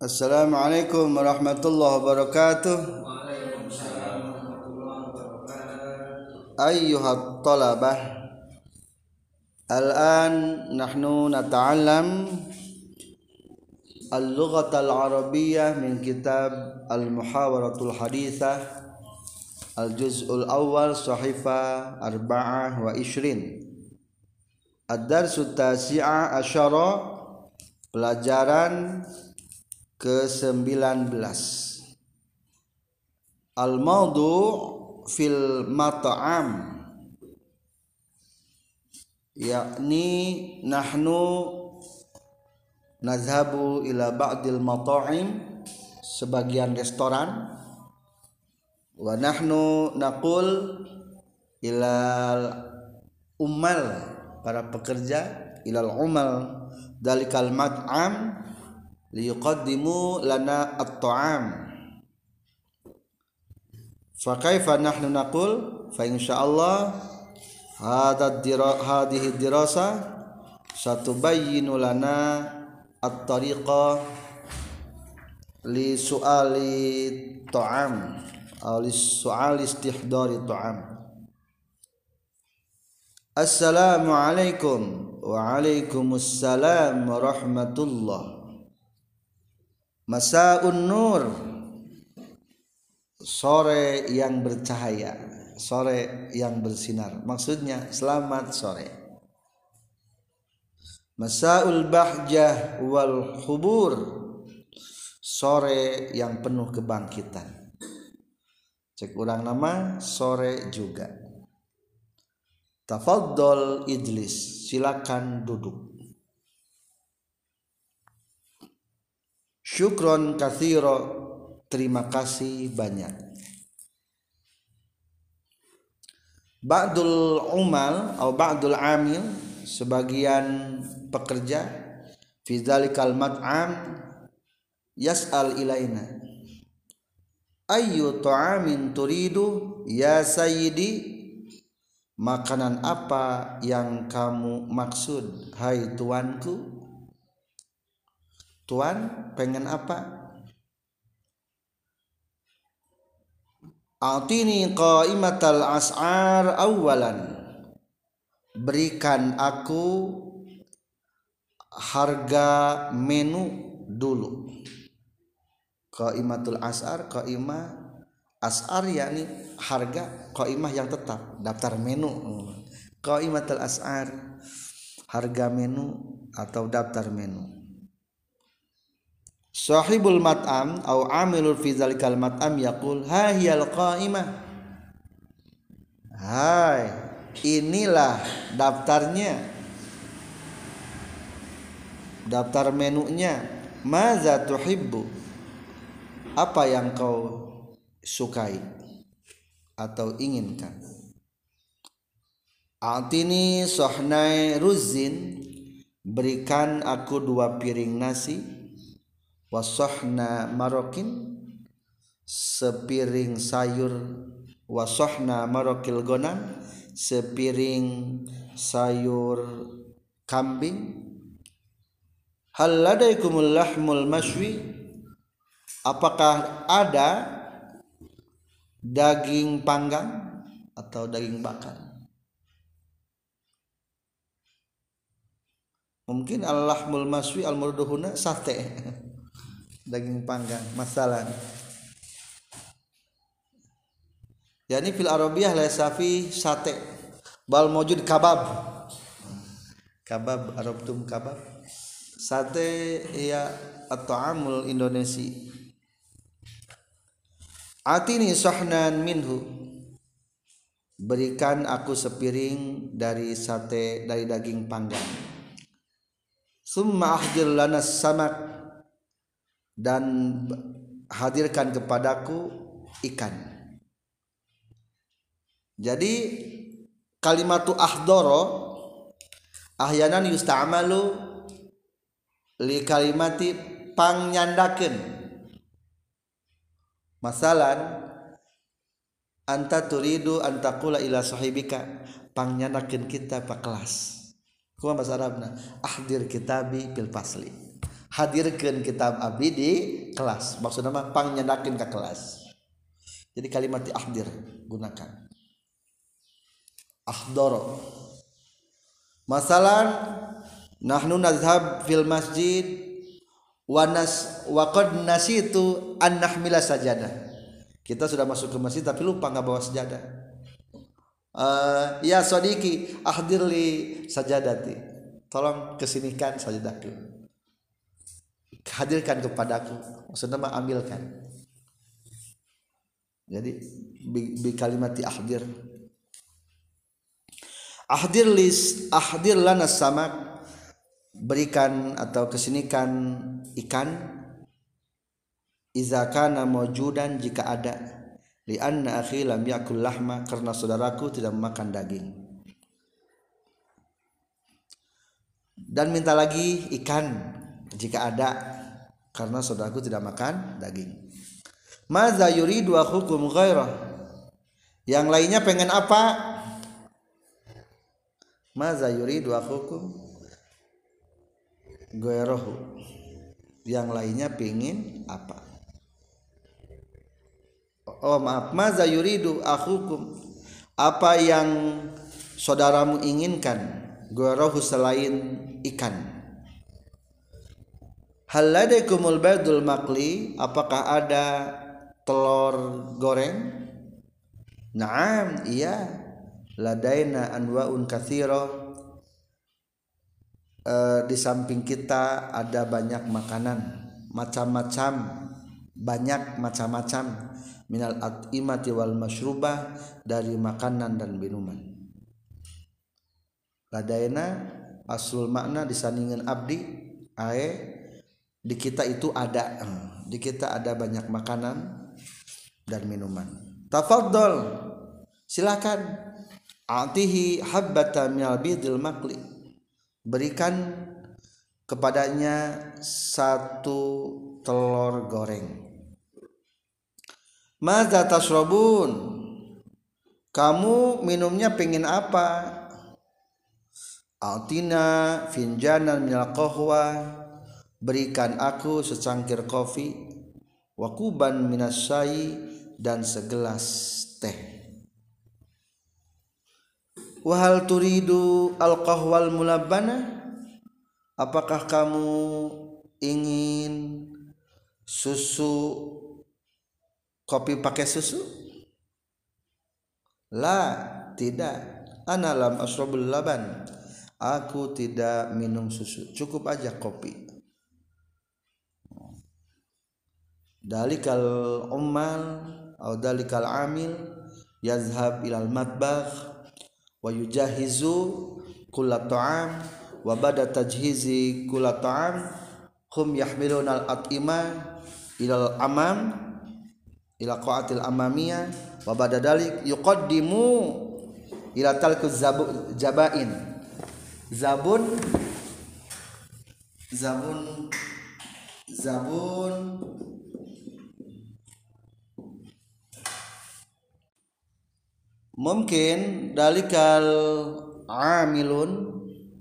Assalamualaikum warahmatullahi wabarakatuh. Ayyuhat talabah, al-an nahnu nata'allam al-lughatal arabiyyah min kitab al-muhawaratul hadithah al-juz'ul awal sahifa 24 ad-darsut tasi'a asyara, pelajaran ke-19. Al-mawdu' fil mat'am, yakni nahnu nazhabu ila ba'dil mata'im, sebagian restoran, wa nahnu naqul ilal ummal, para pekerja, ilal umal dalikal mat'am liyuqaddimu lana at-ta'am. Fa kaifa nahnu naqul fa insyaallah hadhihi dirasa satubayyinu lana at-tariqa li su'ali ta'am aw li su'ali istihdari ta'am. Assalamualaikum. Waalaikumsalam warahmatullah. Masa'un nur, sore yang bercahaya, sore yang bersinar. Maksudnya selamat sore. Masa'ul bahjah wal hubur, sore yang penuh kebangkitan. Cek urang nama sore juga. Tafaddal ijlis, silakan duduk. Syukron katsira, terima kasih banyak. Ba'dul umal atau ba'dul amil, sebagian pekerja, fi dzalikal mat'am yas'al ilaina ayyu ta'amin turidu ya sayyidi, makanan apa yang kamu maksud hai tuanku? Tuan pengen apa? Atini qaimatal as'ar awalan, berikan aku harga menu dulu. Qaimatul as'ar, qaimah as'ar yakni harga, qaimah yang tetap, daftar menu. Qaimatul as'ar, harga menu atau daftar menu. Sahibul mat'am au amilul fi zalikal mat'am yaqul ha hiyal qaimah, hai inilah daftarnya, daftar menunya. Maza tuhibbu, apa yang kau sukai atau inginkan. Atini sohnai ruzin, berikan aku 2 piring nasi. Wasohna marokin, sepiring sayur. Wasohna marokil gonan, sepiring sayur kambing. Hal ladaikumul lahmul mashwi, apakah ada daging panggang atau daging bakar? Mungkin al-lahmul mashwi al-murduhuna sate, daging panggang masalan. Yani fil arabiyah la safi sate bal mawjud kabab. Kabab arabtum kabab. Sate ya at-ta'amul Indonesi. Atini sahnan minhu, berikan aku sepiring dari sate, dari daging panggang. Summa ahdir lana samak, dan hadirkan kepadaku ikan. Jadi kalimatu ahdoro ahyanan yusta'malu li kalimati pangnyandakeun. Masalan anta turidu antaqula ila sahibika, pangnyandakeun kita pa kelas. Kumaha bahasa Arabna? Ahdir kitabi fil fasli. hadirkeun kitab abdi di kelas maksudna mah pangnyedakeun ka kelas jadi kalimat ahdir gunakan ahdara masalan nahnu nazhab fil masjid wa qad nasitu an nahmila sajadah kita sudah masuk ke masjid tapi lupa enggak bawa sajadah ya sodiki ahdirli sajadati tolong kesinikan sajadahku hadirkan kepadaku maksudnya mah ambilkan jadi bi kalimati ahdir ahdir lana samak berikan atau kesinikan ikan iza kana mawjudan jika ada li anna akhi lam yakul lahma karena saudaraku tidak makan daging dan minta lagi ikan jika ada karena saudaraku tidak makan daging. Maza yuridu akhukum ghairah. Yang lainnya pengen apa? Maza yuridu akhukum ghairahu. Yang lainnya pengen apa? Oh maaf, maza yuridu akhukum. Apa yang saudaramu inginkan? Ghairahu selain ikan. Hal ladaikumul baydul maqli, apakah ada telur goreng? Naam, iya. Ladaina anwa'un katsira. Di samping kita ada banyak makanan, macam-macam, banyak macam-macam minal at'imati wal masyrubah, dari makanan dan minuman. Ladaina aslul makna disandingkan abdi ae di kita itu ada, di kita ada banyak makanan dan minuman. Tafadhol, silakan. Atihi habbata minal bidil maqli, berikan kepadanya satu telur goreng. Madza tashrabun, kamu minumnya pengen apa? Atina finjanan minal qahwa, berikan aku secangkir kopi, wakuban minas syai, dan segelas teh. Wahal turidu al-qahwal mulabbana, apakah kamu ingin susu, kopi pakai susu? La, tidak. Ana lam asrabul laban, aku tidak minum susu, cukup aja kopi. Dalikal ummal atau dalikal amil yazhab ilal matbakh wa yujahizu kulla ta'am wa bada tajhizi kulla ta'am hum yahmiluna al at'ima ilal amam ila qa'atil amamiyah wa bada dalik yuqaddimu ila talkuz jabain zabun mungkin dalikal amilun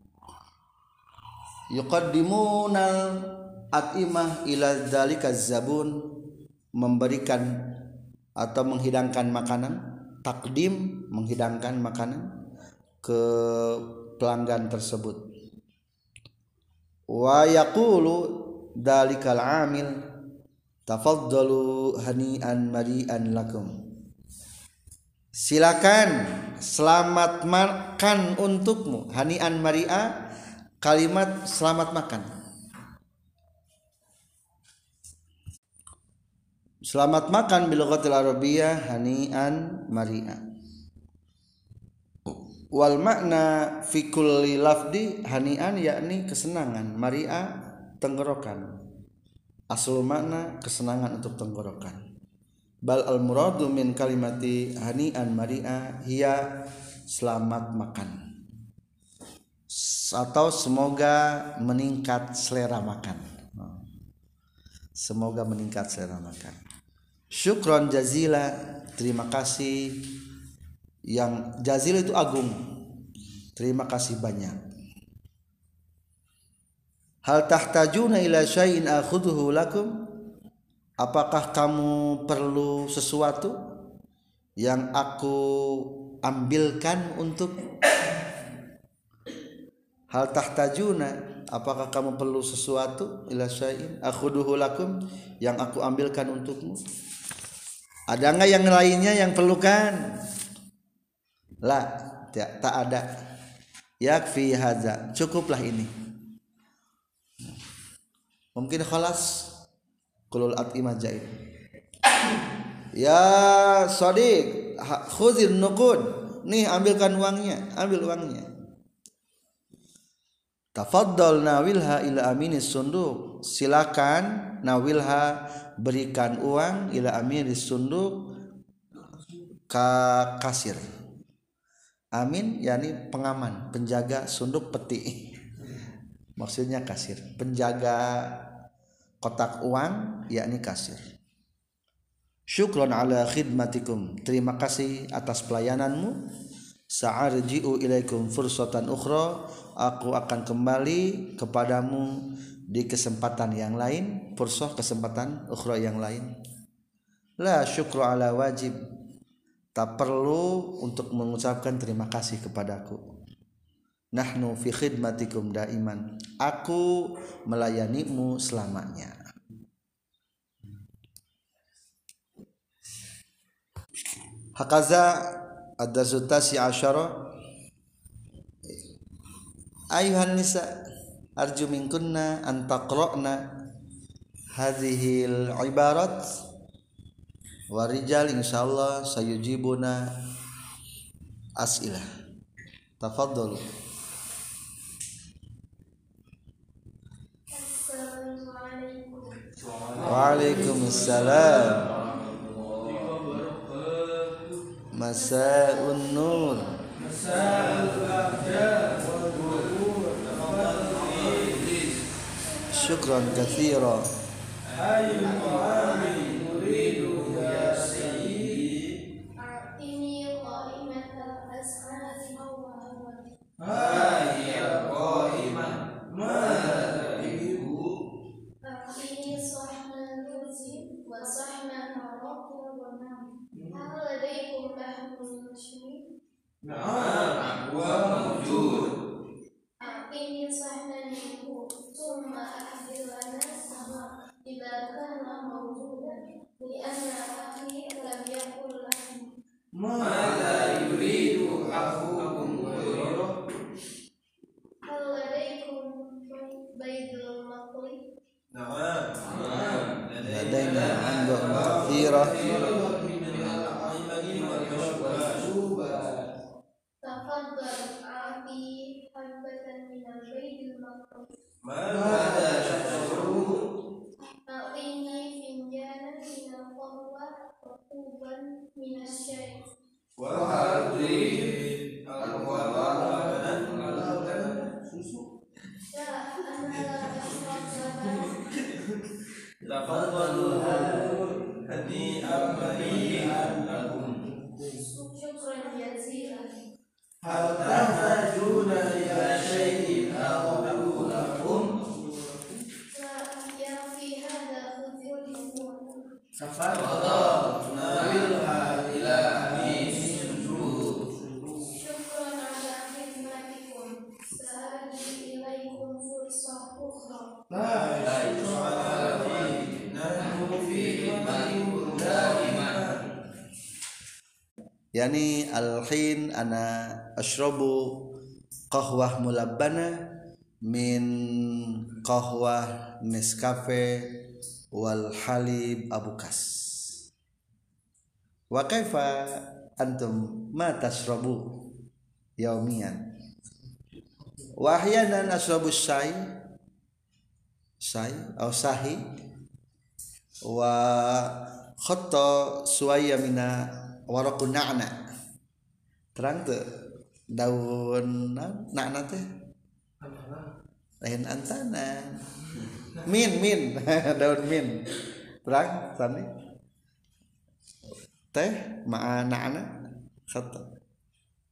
yuqaddimunal at'imah ila dalikaz zabun, memberikan atau menghidangkan makanan, takdim menghidangkan makanan ke pelanggan tersebut. Wa yaqulu dalikal amil tafaddalu hani'an mari'an lakum, silakan selamat makan untukmu. Hani'an mari'a, kalimat selamat makan. Selamat makan bil lughatil arabiyyah hani'an mari'a. Wal makna fi kulli lafdi hani'an yakni kesenangan, mari'a tenggorokan. Asal makna kesenangan untuk tenggorokan. Bal al muradu min kalimati hani'an mari'a hiya selamat makan, atau semoga meningkat selera makan. Semoga meningkat selera makan. Syukron jazila, terima kasih. Yang jazil itu agung, terima kasih banyak. Hal tahtajuna ila syai'in akhudhuhu lakum? Apakah kamu perlu sesuatu yang aku ambilkan untuk? Hal tahtajuna, apakah kamu perlu sesuatu ila syai'in akhudhuhu lakum, yang aku ambilkan untukmu? Ada enggak yang lainnya yang perlukan? La, tak ada. Yakfi hadza, cukuplah ini. Mungkin khalas qulul at'imah jaid. Ya Shadiq, khuzil nuqud, nih ambilkan uangnya, ambil uangnya. Tafaddal nawilha ila aminis sunduk, silakan nawilha, berikan uang ila aminis sunduk, ka kasir. Amin yakni pengaman, penjaga sunduk peti. Maksudnya kasir, penjaga kotak uang yakni kasir. Syukron ala khidmatikum, terima kasih atas pelayananmu. Sa'arji'u ilaikum fursatan ukhra, aku akan kembali kepadamu di kesempatan yang lain. Fursah, kesempatan ukhra yang lain. La syukru ala wajib, tak perlu untuk mengucapkan terima kasih kepadaku. Nahnu fi khidmatikum daiman, aku melayanimu selamanya. Hakaza ad-darsu tasi asyara. Ayuhan nisa, arju minkunna an taqra'na hadhil ibarat, wa rijal insyaallah sayujibuna as'ilah. Tafadhalu. Waalaikumsalam. Masa'un nur. Syukran katsira. Ladaina anba'un katsira. Tafadhal abi habatan min al-baitil maqdis. A'tini finjanan min al-qahwa wa kuban min asy-syai. La ana la ashrab syukran jazilan. La yakfi hadha khudhul umur. Syukran ala khidmatikum, sa'arji ilaikum fursah ukhra. Yani al-hin ana ashrabu qahwah mulabbana min qahwah Nescafe wal halib abukas. Wa kaifa antum ma tashrabu yaumiyan? Wa ahyanan ashrabu syai atau sahi wa khatta suwaya mina waraqun na'na. Terang teu daun na'na teh lain antana min daun min terang sani teh ma'a na'na khatta.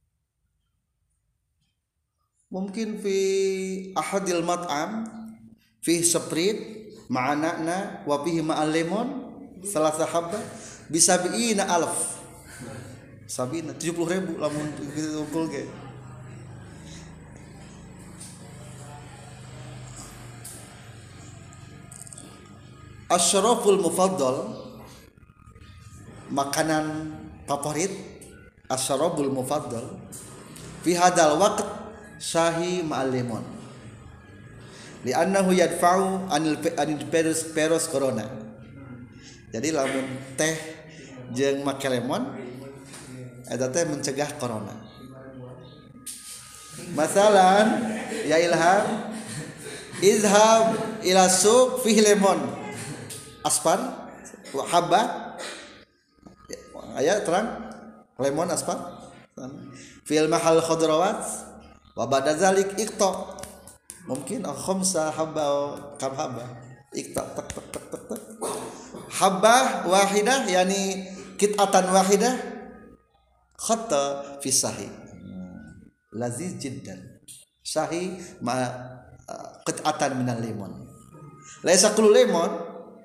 Mungkin fi ahadil mat'am fi Sprite ma'anana wa fihi ma'al lemon salasa habba bisabiina alf sabina 70.000 lamun diukur ge. Asyraful mufaddal makanan favorit asyrabul mufaddal fi hadal waqt syahi ma'al lemon li'annahu yadfa'u anil peros corona. Jadi lamun teh jeung make lemon eta teh mencegah corona. Masalan ya Ilham izhab ila suq fihi lemon asfar wa habba aya terang lemon asfar fil mahal khudrawat wa ba'da zalik iqta mungkin khamsa habba kam habba iqta tak tak tak tak tak habba wahidah yani qit'atan wahidah khatta fi sahih laziz jiddan sahih ma qit'atan minal lemon laisa kullu lemon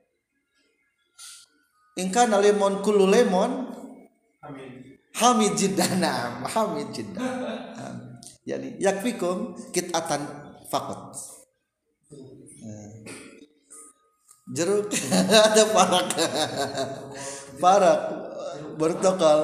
in kana lemon kullu lemon hamid jiddan hamid jiddan yani yakfikum qit'atan faqat jeruk ada parak bertokal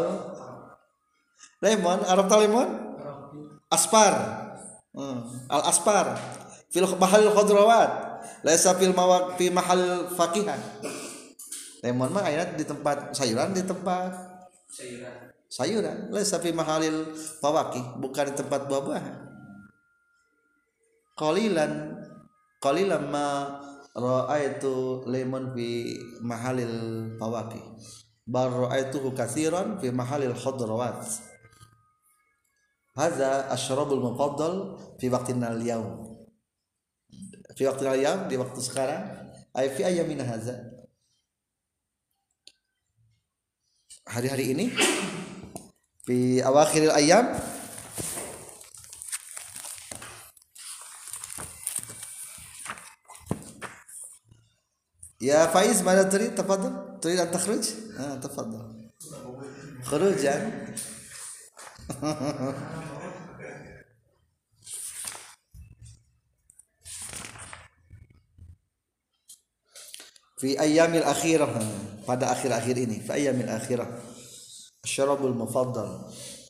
lemon Arab lemon aspar al aspar fil mahal khudrawat laisa fil mawaq fi mahal fakihan. Lemon mah aya di tempat sayuran, di tempat sayuran laisa fi mahalil fawaqih, bukan di tempat buah-buahan. Qalilan ma ra'aitu lemon fi mahalil fawaqih bal ra'aituhu katsiran fi mahalil khudrawat. Hadza asyrabul mufaddal fi waqtina al-yaum. Fi waqtina al-yaum di waktu sekarang ay fi ayyamin hadza. Hari-hari ini fi awakhiril ayyam ya Faiz mana turid tafadhal turid an takhruj tafadhal khurujan fi ayyamil akhirah pada akhir-akhir ini fi ayyamil akhirah asyrabul mufaddal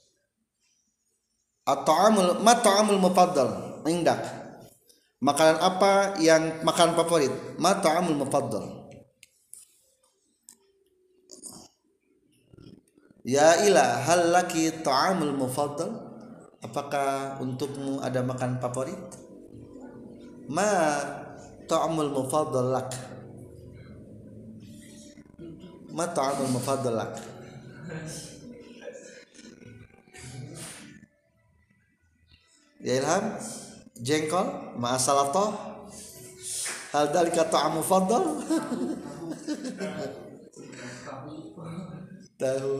at-ta'amul mat'amul mufaddal indak makanan apa yang makanan favorit mat'amul mufaddal ya ila hal laki ta'amul mufaddal apakah untukmu ada makanan favorit ma ta'amul mufaddal lak ma ta'amul mufaddal lak ya Ilham jengkol ma salatah hal dalika ta'am mufaddal tahu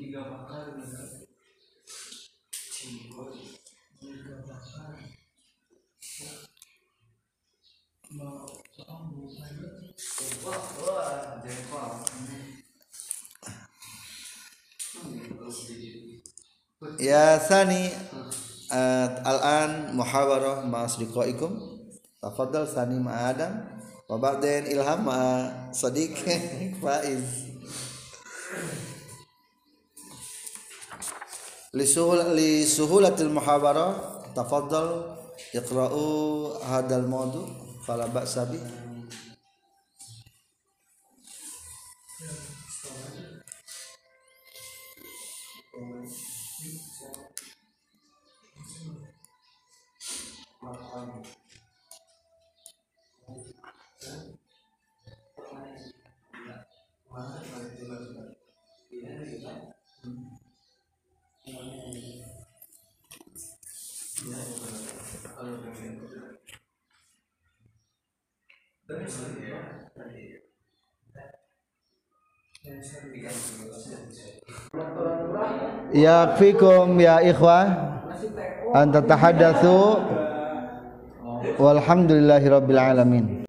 ya Sani al-an muhawarah ma asdiqaikum tafadhal Sani ma Adam wa ba'dain Ilham ma Sadiq Faiz li suhulatil muhawarah tafadhal iqra'u hadal mawdu fala ba'sa bi yakfikum ya ikhwah an tatahaddatsu walhamdulillahi rabbil alamin.